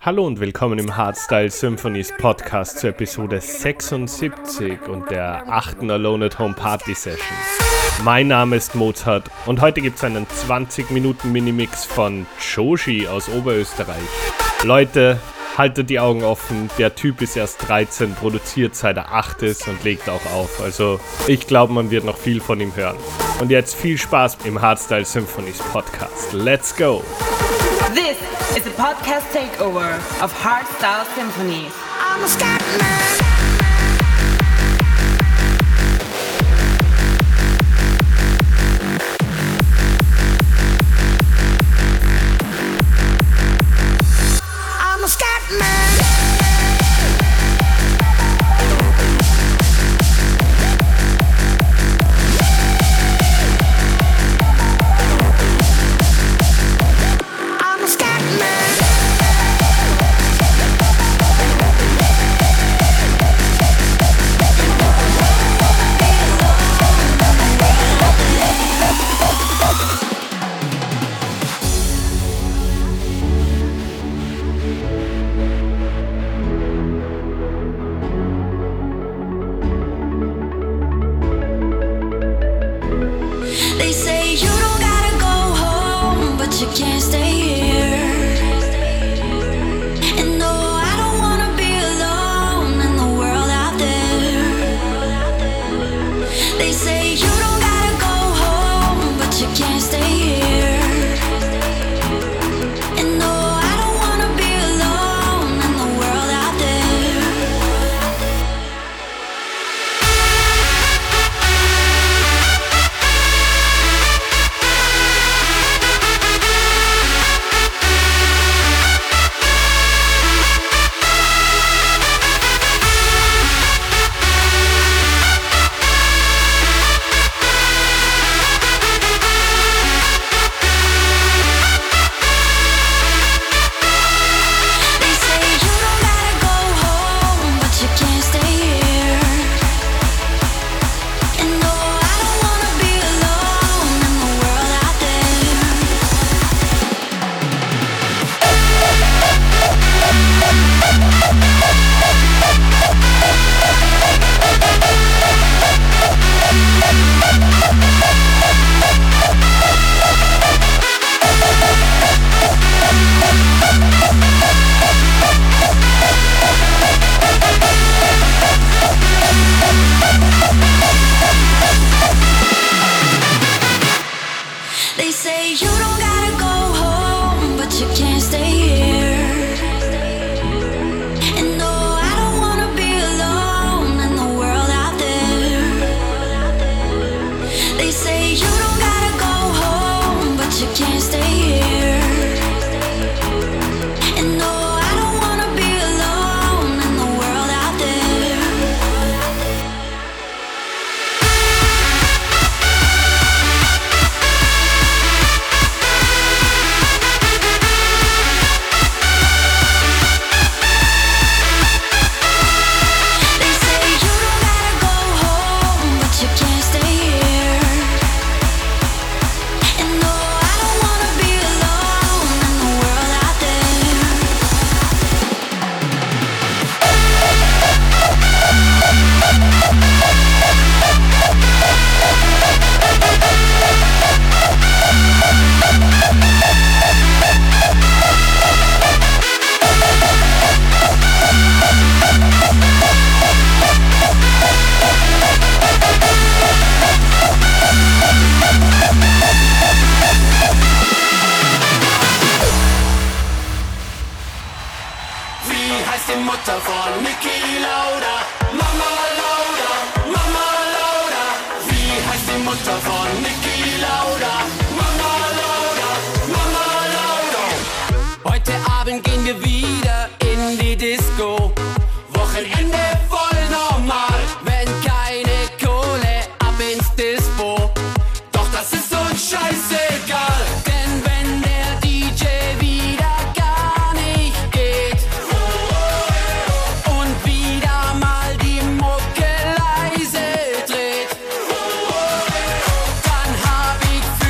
Hallo und willkommen im Hardstyle Symphonies Podcast zur Episode 76 und der 8. Alone at Home Party Session. Mein Name ist Mozart und heute gibt es einen 20-Minuten Minimix von Joshi aus Oberösterreich. Leute, haltet die Augen offen, der Typ ist erst 13, produziert seit er 8 ist und legt auch auf. Also ich glaube, man wird noch viel von ihm hören. Und jetzt viel Spaß im Hardstyle Symphonies Podcast. Let's go! This is a podcast takeover of Hardstyle Symphonies. I'm a Scatman.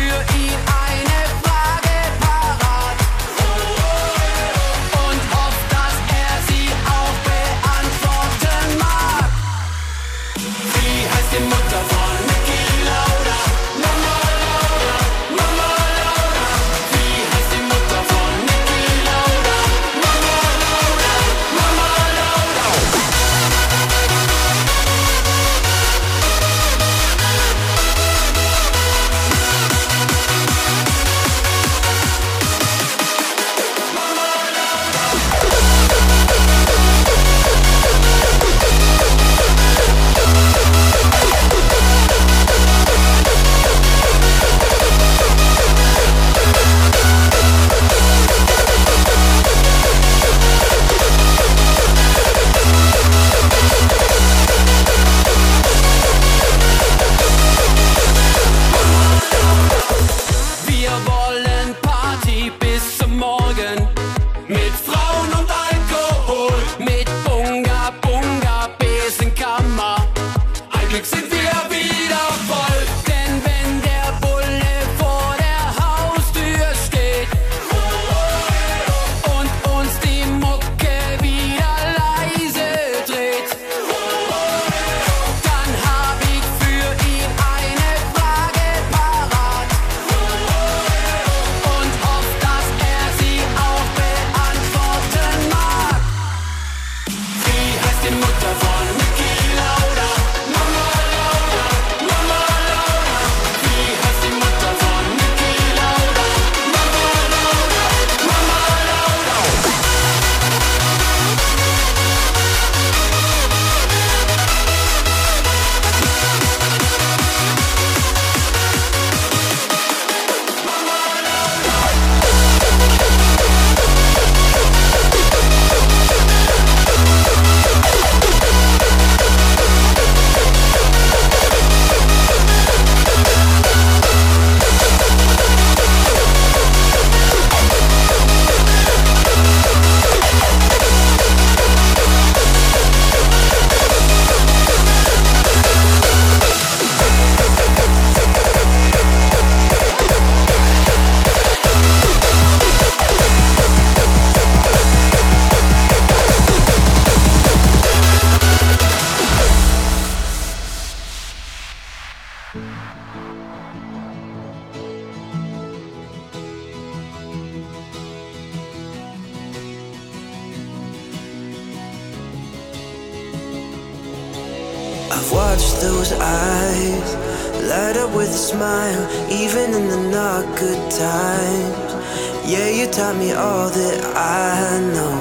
Auf Watch those eyes light up with a smile, even in the not good times. Yeah, you taught me all that I know.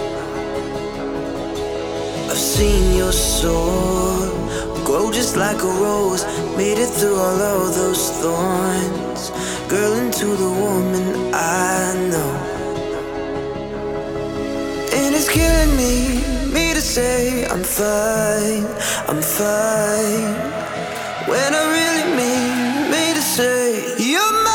I've seen your soul grow just like a rose, made it through all of those thorns, girl, into the woman I know. And it's killing me to say I'm fine, when I really mean me to say you're mine.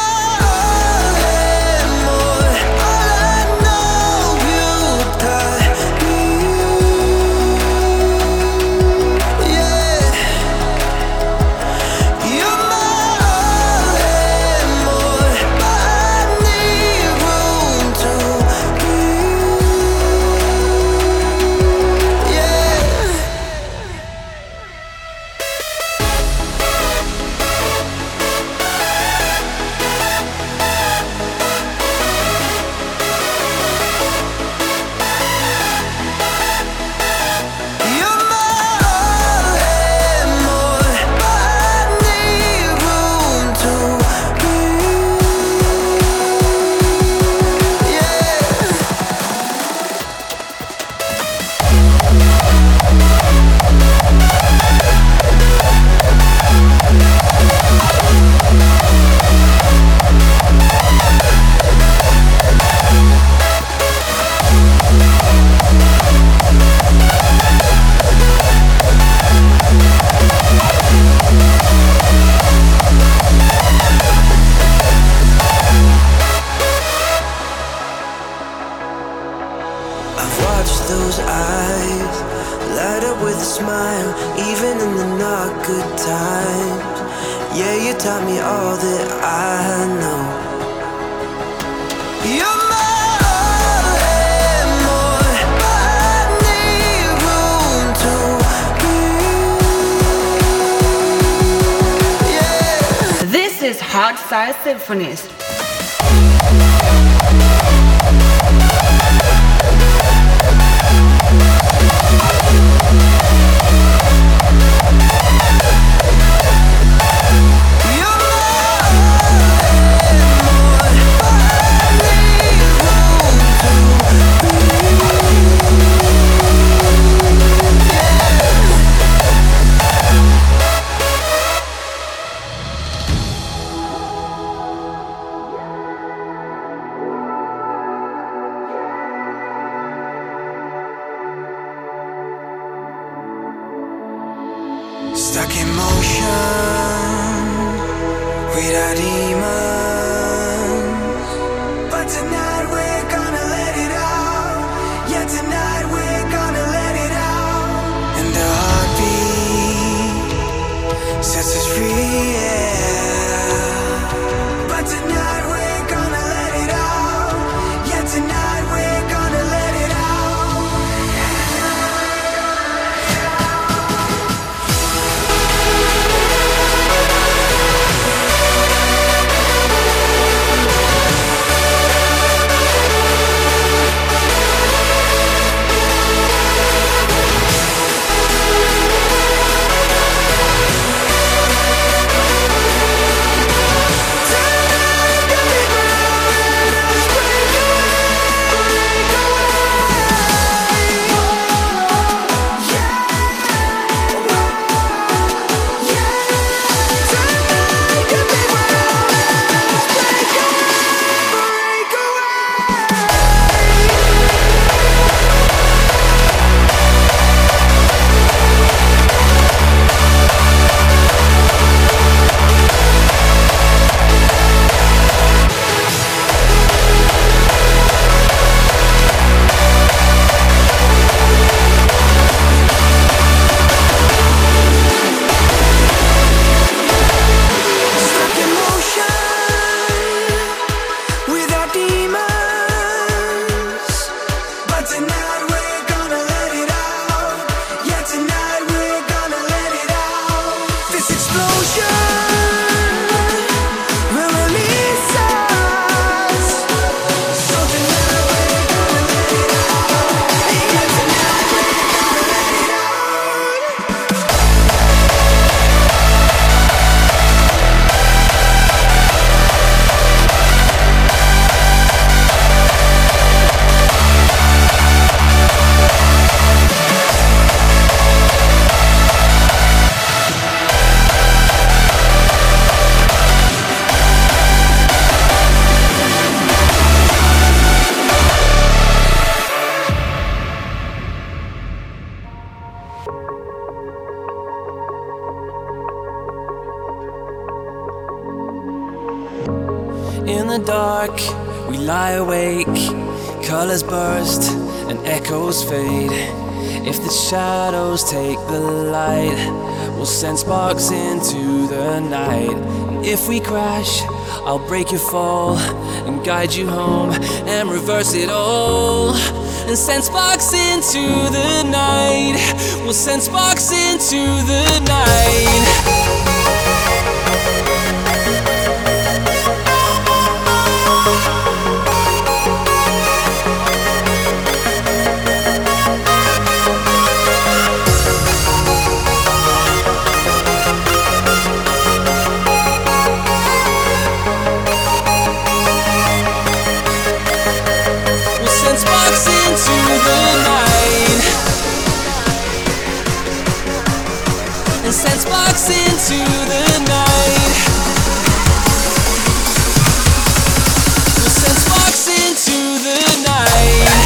Hardstyle Symphonies. Stuck in motion with our demons, but tonight we're gonna let it out. Yeah, tonight we're gonna let it out. And the heartbeat sets us free, yeah. But tonight we're gonna let it out. Yeah, tonight we're gonna let it out. dark, we lie awake. Colors burst and echoes fade. If the shadows take the light, we'll send sparks into the night. And if we crash, I'll break your fall and guide you home and reverse it all. And send sparks into the night. We'll send sparks into the night. Send sparks into the night. We'll send sparks into the night.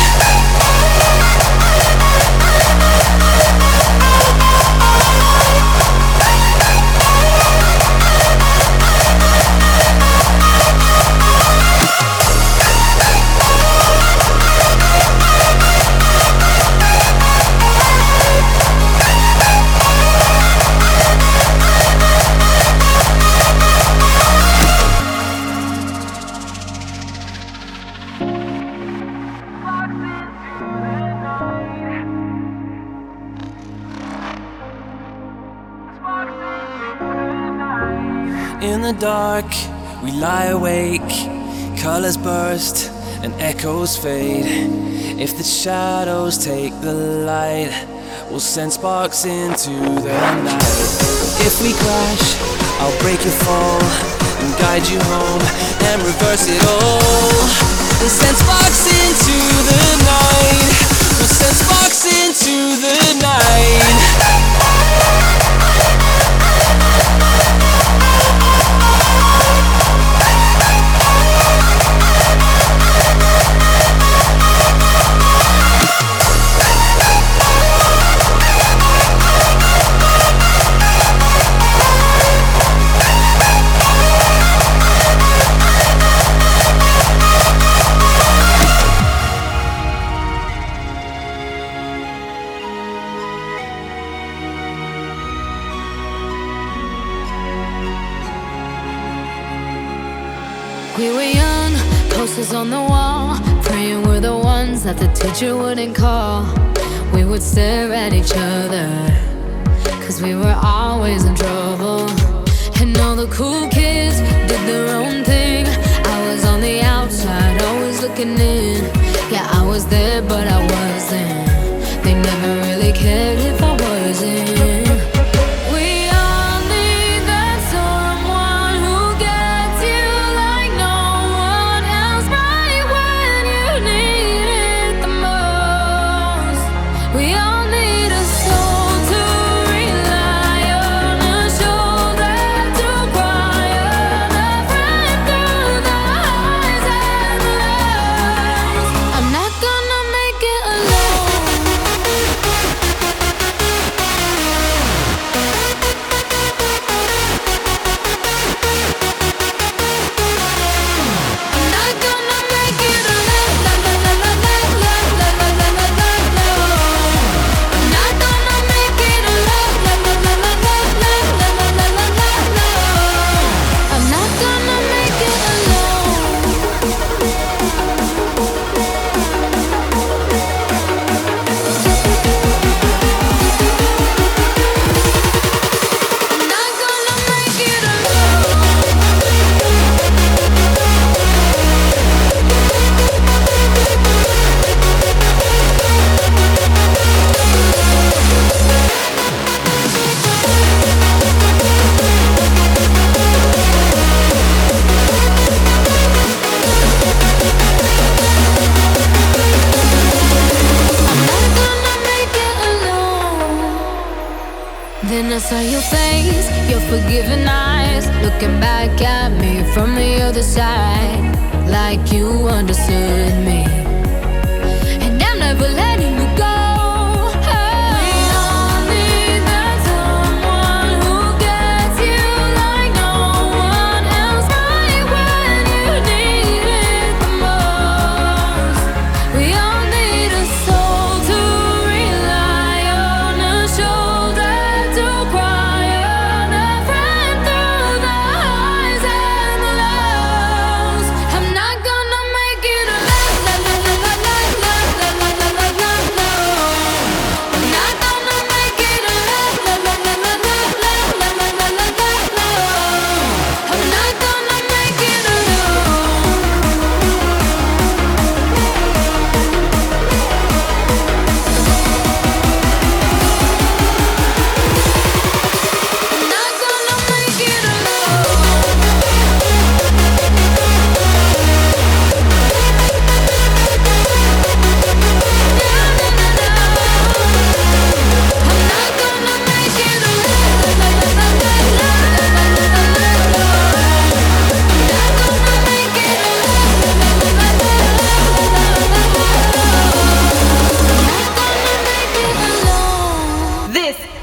In the dark, we lie awake. Colors burst and echoes fade. If the shadows take the light, we'll send sparks into the night. If we crash, I'll break your fall and guide you home and reverse it all. And send sparks into the night. We'll send sparks into the night. We were young, posters on the wall, praying we're the ones that the teacher wouldn't call. We would stare at each other, cause we were always in trouble. And all the cool kids did their own thing. I was on the outside, always looking in. Yeah, I was there, but I wasn't. They never really cared if I wasn't. Then I saw your face, your forgiving eyes, looking back at me from the other side, like you understood me. And I'm never letting you go. Need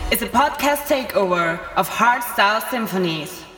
is a podcast takeover of Hardstyle Symphonies.